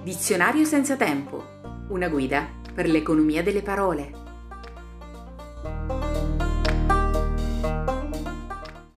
Dizionario senza tempo. Una guida per l'economia delle parole.